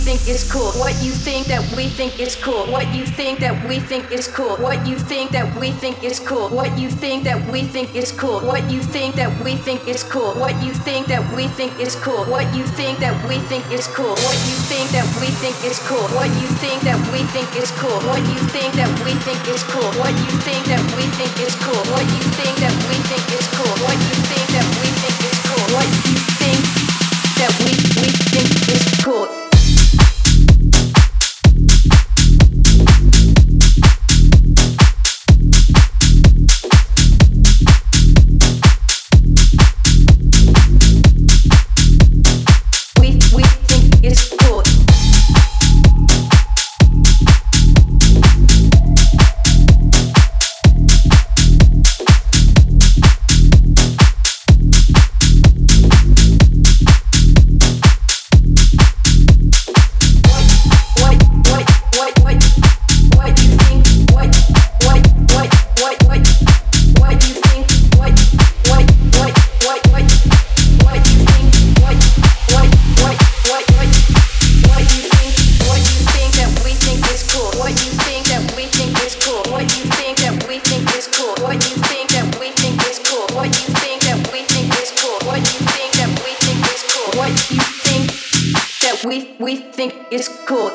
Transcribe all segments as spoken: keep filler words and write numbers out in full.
think is cool. What you think that we think is cool. What you think that we think is cool. What you think that we think is cool. What you think that we think is cool. What you think that we think is cool. What you think that we think is cool. What you think that we think is cool. What you think that we think is cool. What you think that we think is cool. What you think that we think is cool. What you think that we think is cool. What you think that we think is cool. What you think that we think is cool. What you think that we we think is cool. We we think is cool.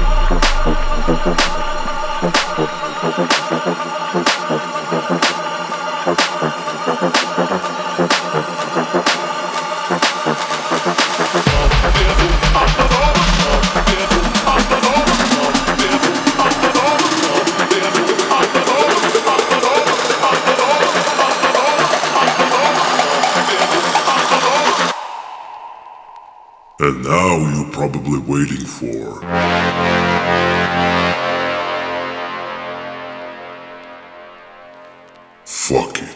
And now you're probably waiting for fuck it.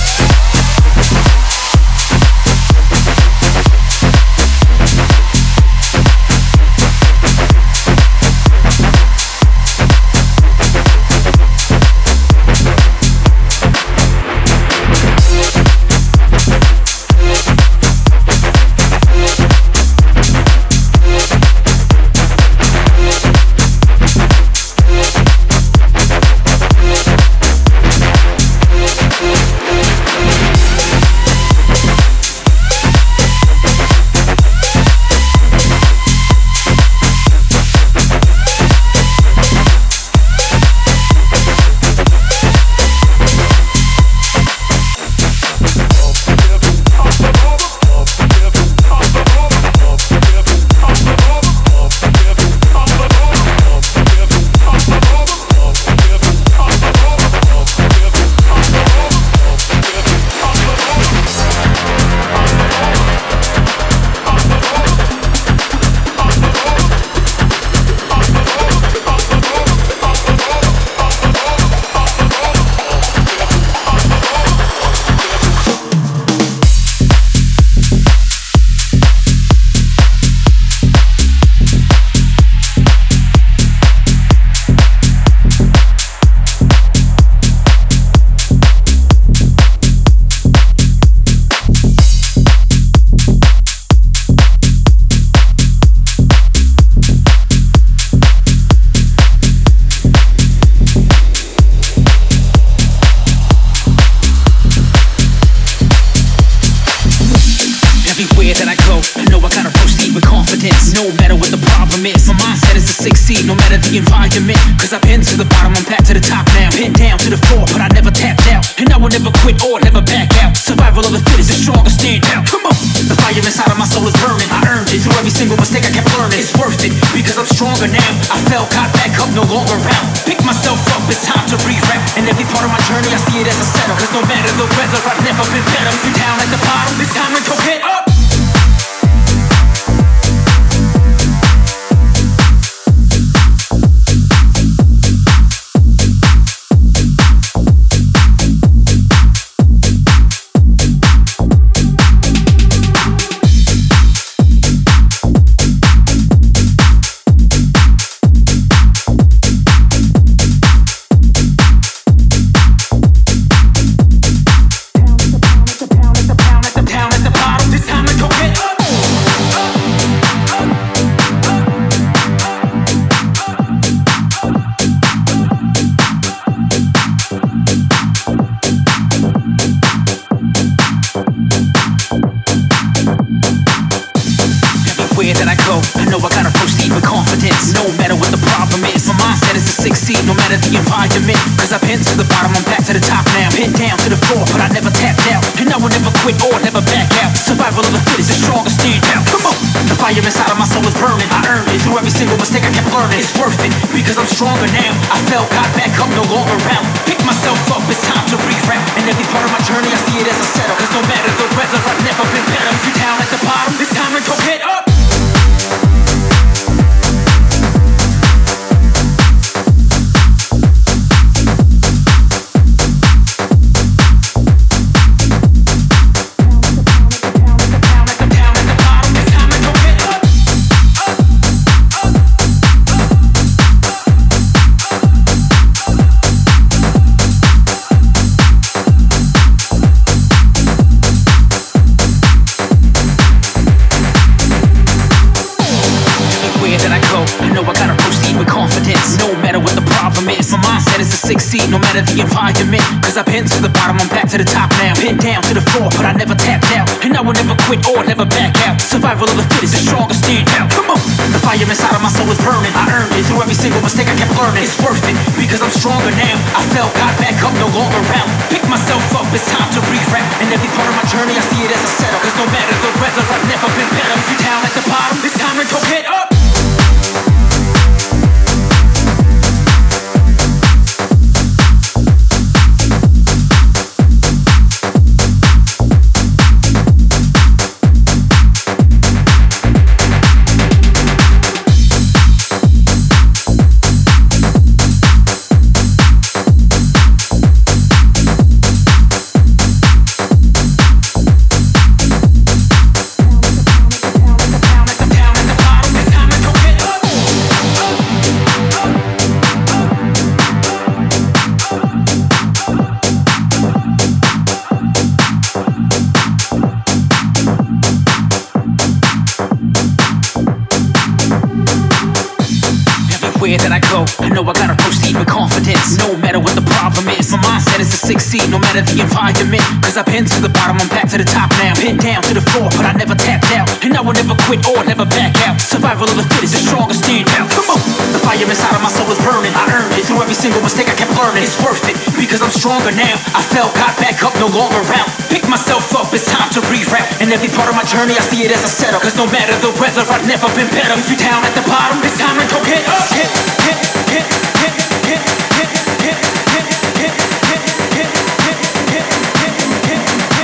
Cause I've been to the bottom, I'm back to the top now. Pinned down to the floor, but I never tapped out. And I will never quit or never back out. Survival of the fittest, the strongest stand out. Come on! The fire inside of my soul is burning. I earned it through every single mistake I kept learning. It's worth it, because I'm stronger now. I fell, got back up, no longer around. Pick myself up, it's time to rewrap. And every part of my journey, I see it as a setup. Cause no matter the weather, I've never been better. If you're down at the bottom, it's time to go get up. No matter the environment, cause I've been to the bottom, I'm back to the top now. Pinned down to the floor, but I never tapped out. And I will never quit or never back out. Survival of the fittest, the strongest stand out. Come on! The fire inside of my soul is burning. I earned it through every single mistake I kept learning. It's worth it, because I'm stronger now. I fell, got back up, no longer around. Pick myself up, it's time to rewrap. And every part of my journey, I see it as a setup. Cause no matter the weather, I've never been better. If you're down at the bottom, it's time to go get up. mindset is to succeed no matter the environment. Cause I've been to the bottom, I'm back to the top now. Pinned down to the floor, but I never tapped out. And I will never quit or never back out. Survival of the fittest, the strongest stand out. Come on! The fire inside of my soul is burning. I earned it through every single mistake I kept learning. It's worth it, because I'm stronger now. I fell, got back up, no longer around. Pick myself up, it's time to rewrap. And every part of my journey, I see it as a setup. Cause no matter the weather, I've never been better. If you're down at the bottom, it's time to go get up. That I go, I know I gotta proceed with confidence. No matter what the problem is, my mindset is to succeed no matter the environment. Cause I've been to the bottom, I'm back to the top now. Pinned down to the floor, but I never tapped out. And I will never quit or never back out. Survival of the fittest, the strongest stand out. Come on! The fire inside of my soul is burning. I earned it through every single mistake I kept learning. It's worth it, because I'm stronger now. I fell, got back up, no longer around. Pick myself up, it's time to reroute. And every part of my journey, I see it as a setup. Cause no matter the weather, I've never been better. If you're down at the bottom, it's time to go get up. Hit, hit, hit, hit, hit, hit, hit, hit, hit, hit, hit, hit, hit,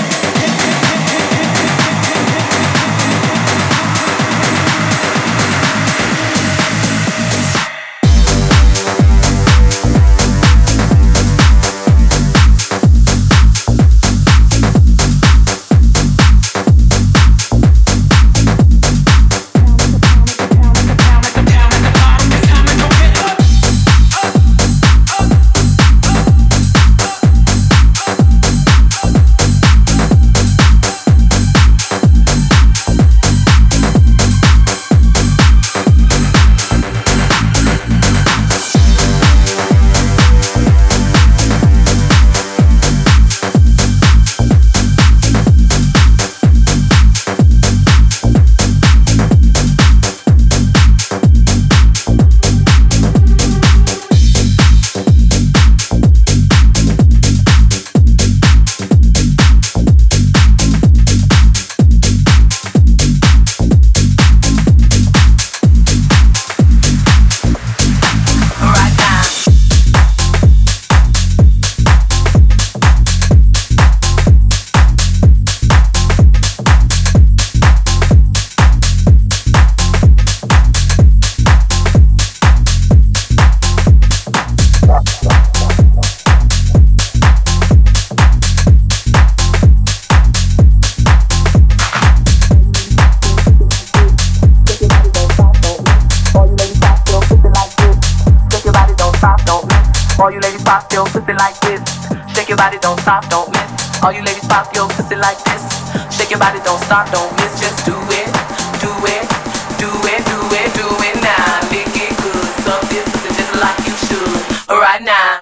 All you ladies pop your pussy like this. Shake your body, don't stop, don't miss. All you ladies pop your pussy like this. Shake your body, don't stop, don't miss. Just do it, do it, do it, do it, do it now. Lick it good, suck this pussy just like you should. Right now.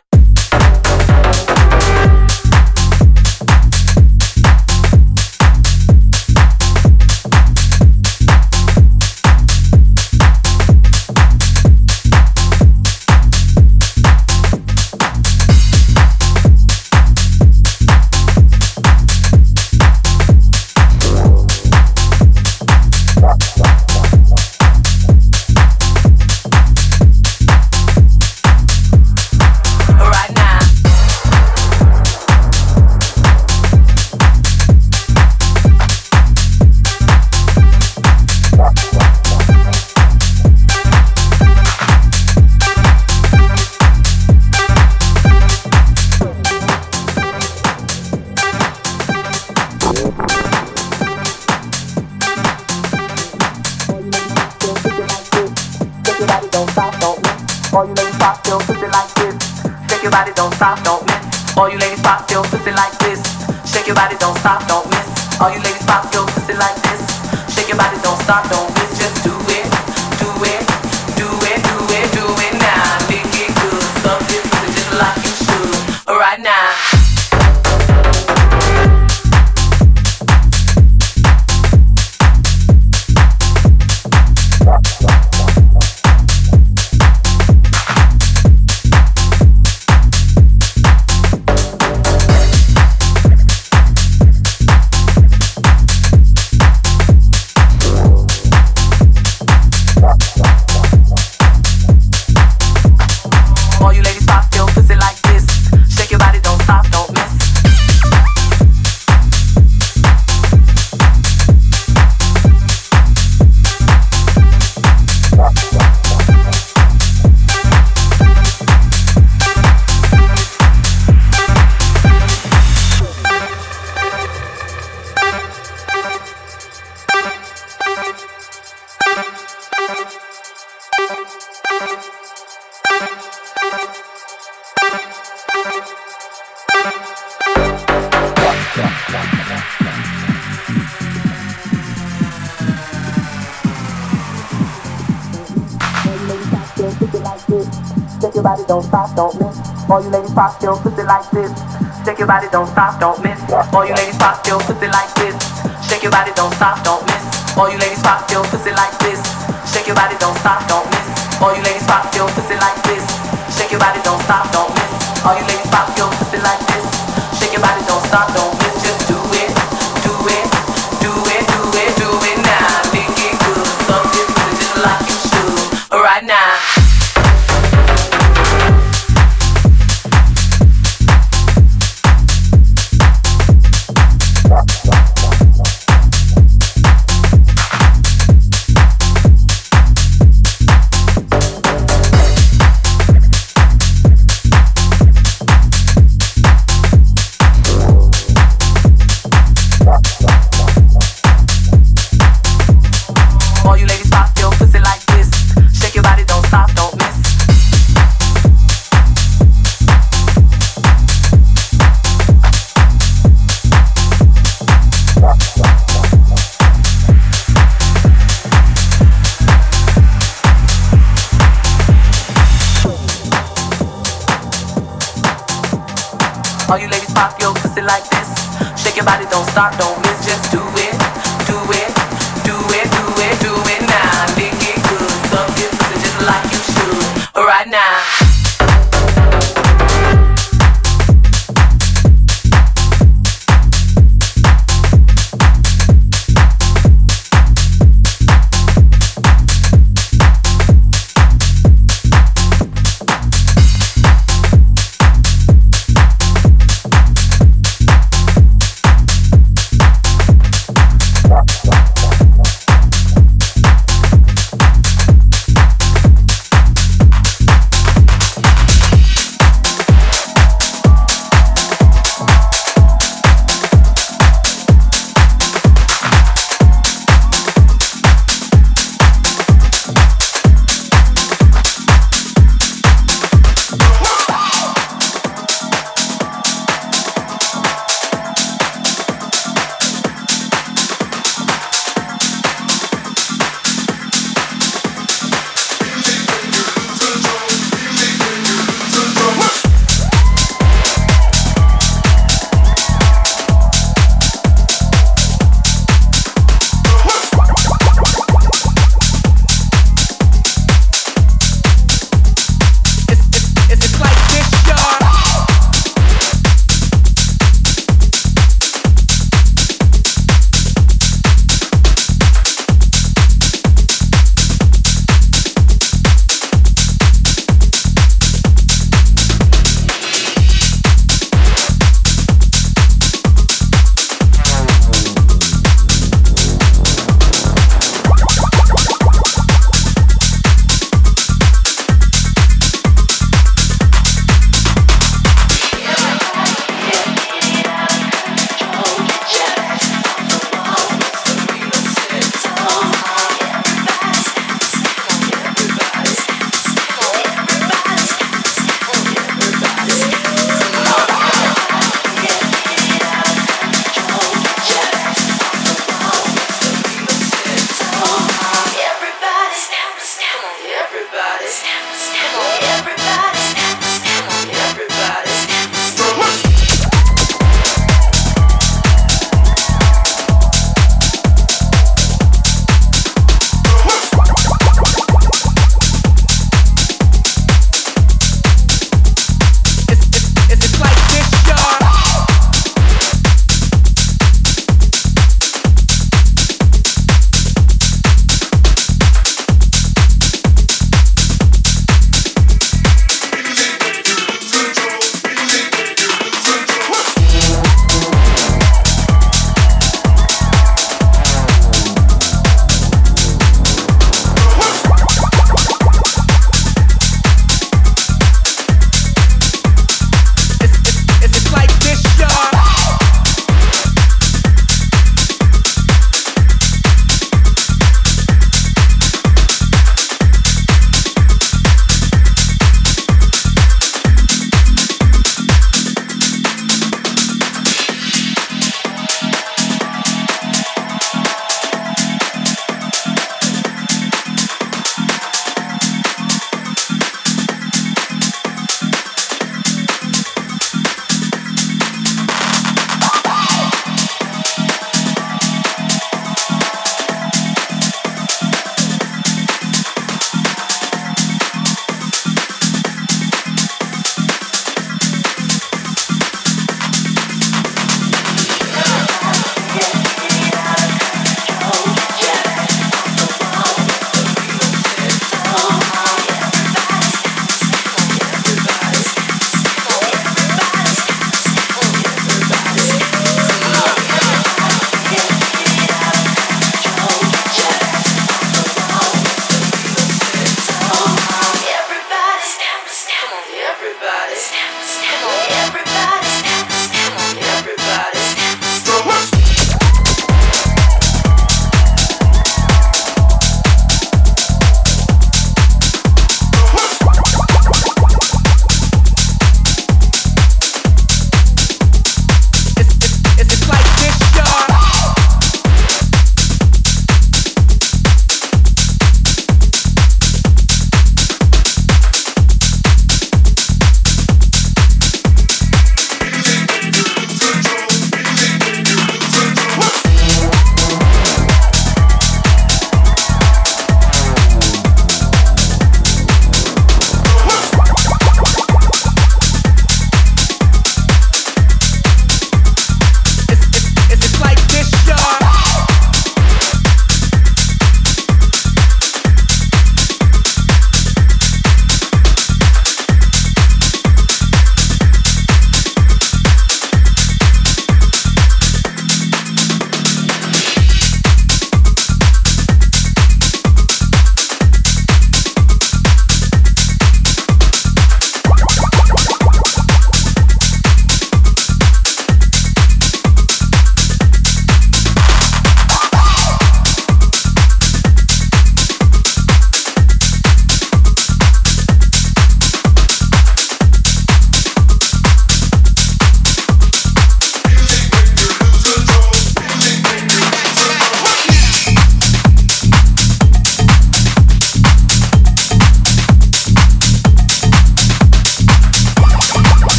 All you ladies pop your pussy like this. Shake your body, don't stop, don't miss. All you ladies pop your pussy like this. Shake your body, don't stop, don't miss. All you ladies pop your pussy like this. Shake your body, don't stop, don't miss. Just do it, do it, do it, do it, do it now. Lick it good, suck this pussy just like your body, don't stop, don't miss. All you ladies pop your pussy like this. Shake your body, don't stop, don't miss. All you ladies pop your pussy like this. Shake your body, don't stop, don't miss. All you ladies pop your pussy like this. Shake your body, don't stop, don't miss. All you ladies pop your pussy like this. Shake your body, don't stop, don't miss. All you ladies pop your pussy like this. Shake your body, don't stop, don't miss. Just do it, do it, do it, do it, do it now. Make it good, suck this pussy just like you should. Right now. All you ladies pop your pussy like this. Shake your body, don't stop, don't miss. Just do it, do it, do it, do it, do it now. Lick it good, suck this pussy just like you should. Right now.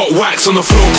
Hot wax on the floor.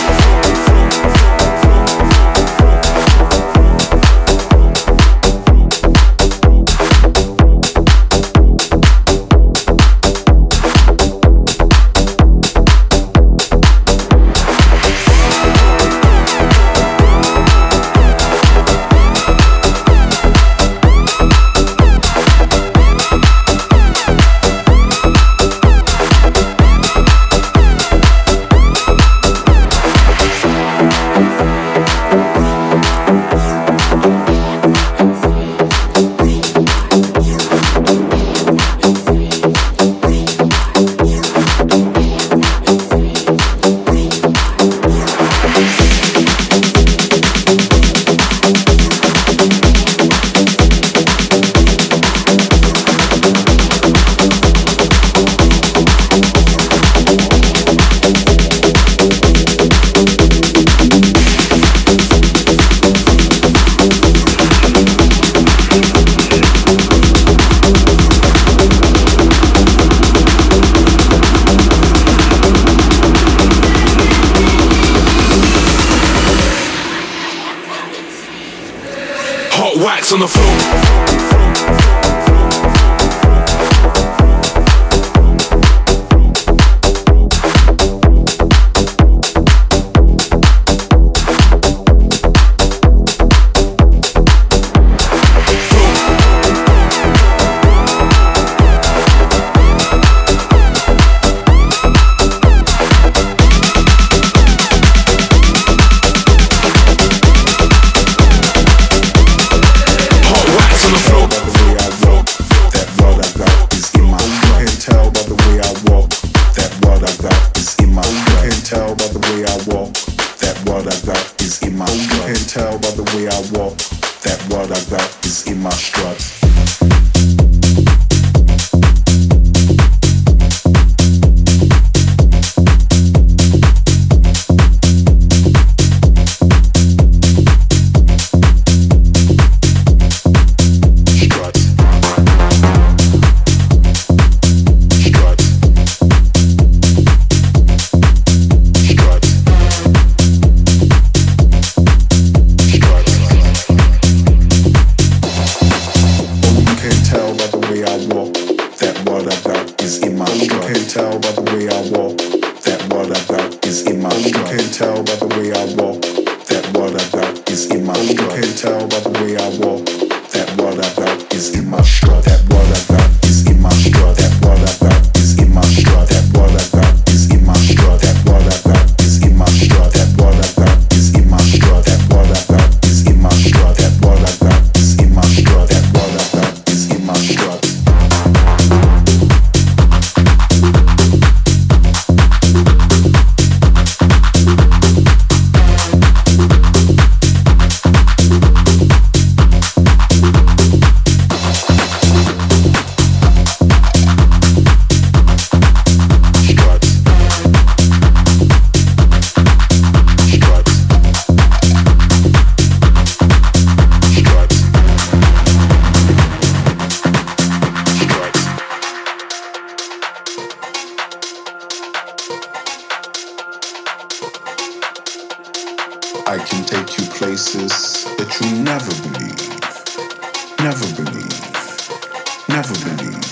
Wax on the floor. I can take you places that you never believe, never believe, never believe.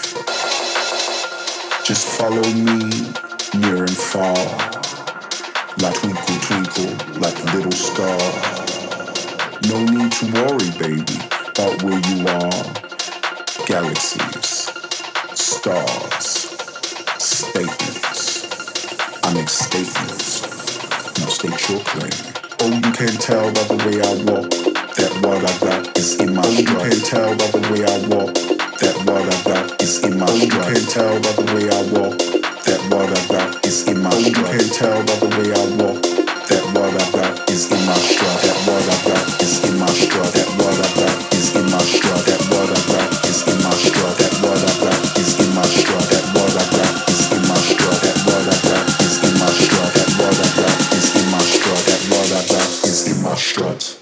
Just follow me near and far, like twinkle, twinkle, like a little star. No need to worry, baby, about where you are. Galaxies, stars, statements. I make statements. Now state your claim. Oh, you can tell by the way I walk that what I got is in my stride. You can tell by the way I walk that what I got is in my stride. You can tell by the way I walk that what I got is in my stride. You can tell by the way I walk that what I got is in my stride. That what I got is in my stride. That what I got is in my stride. That what I got is in my stride. That what I got is in my stride. That what I got is in my stride. That what I got is in my stride. That what I got is in my stride. That what I got is in my stride.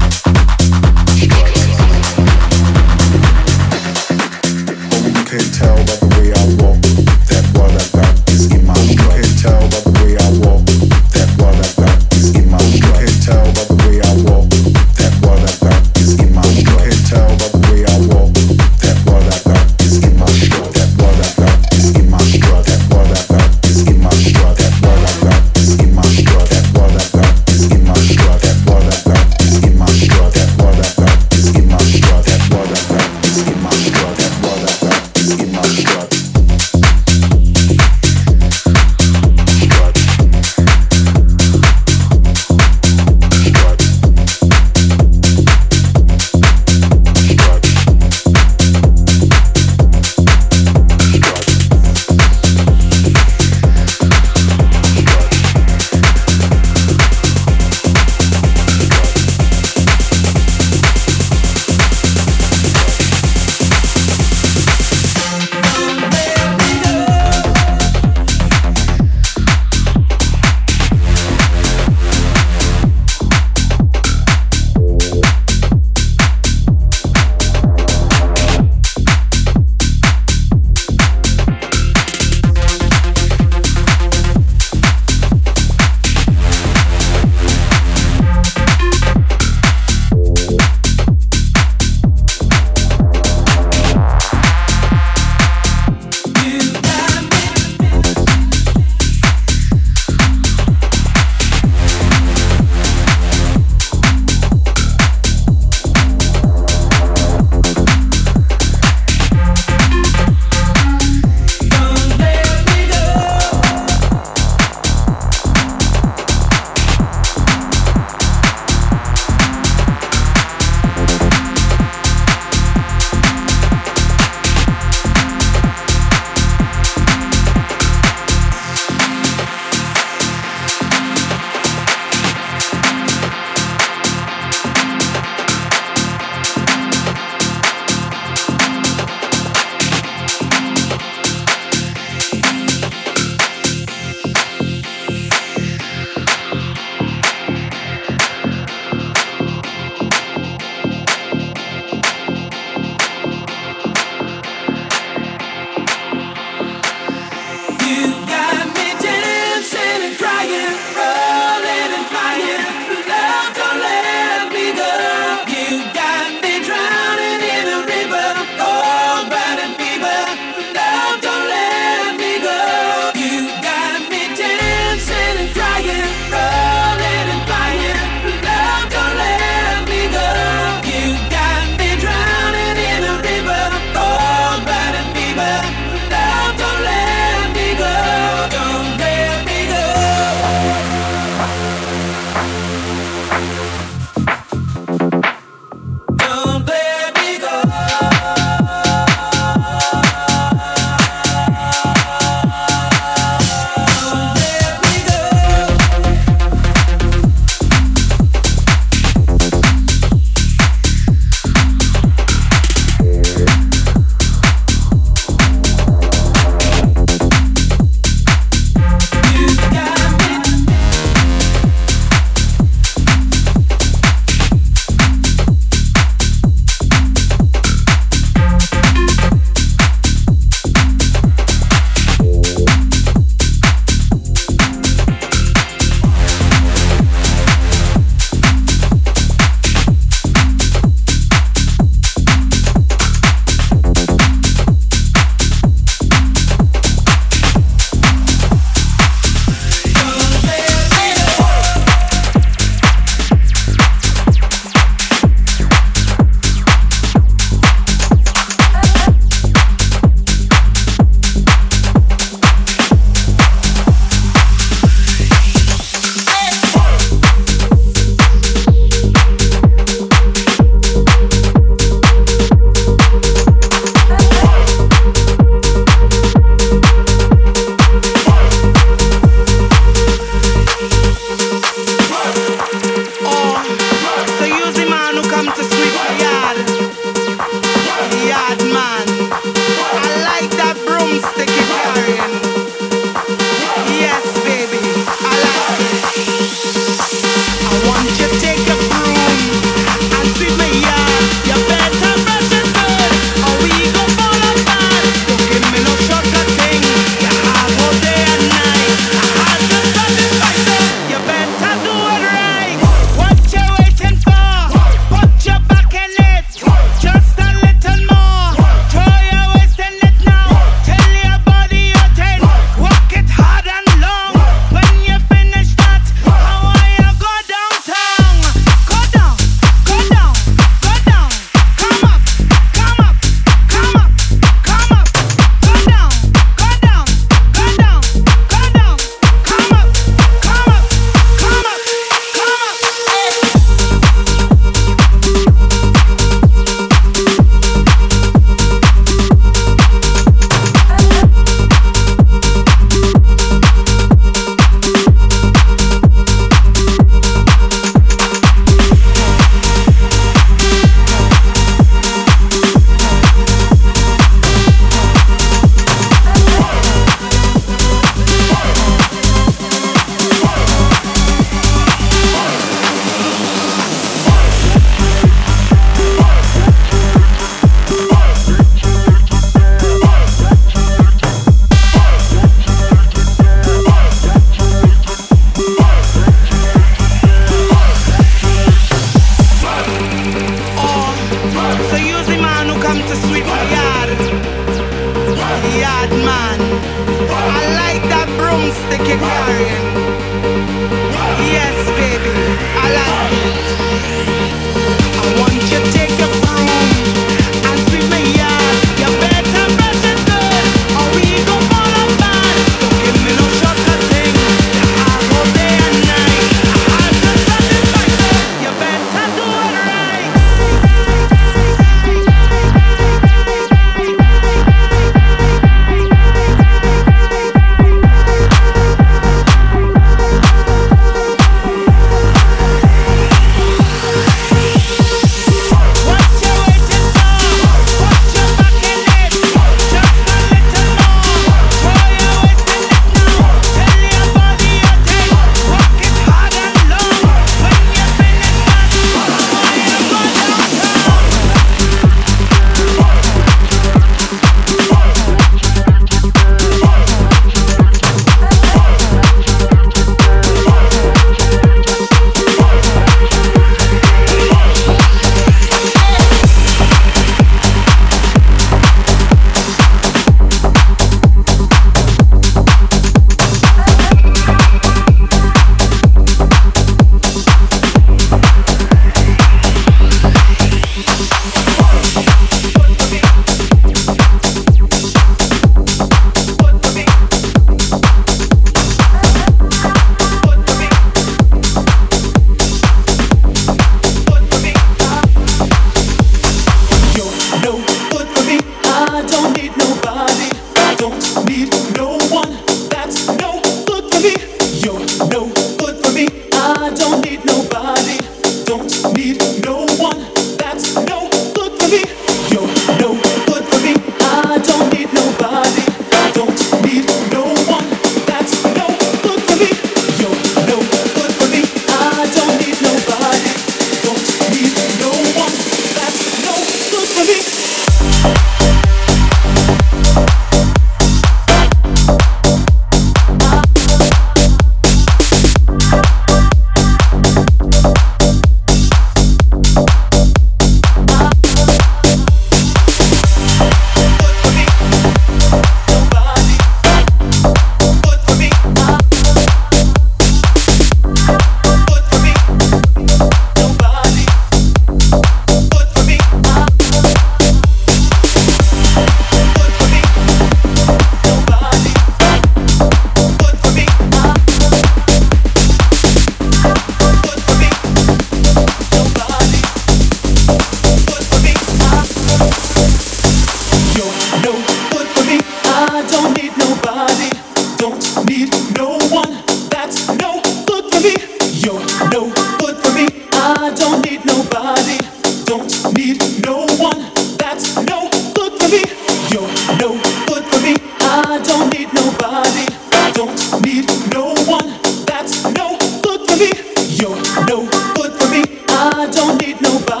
Nobody.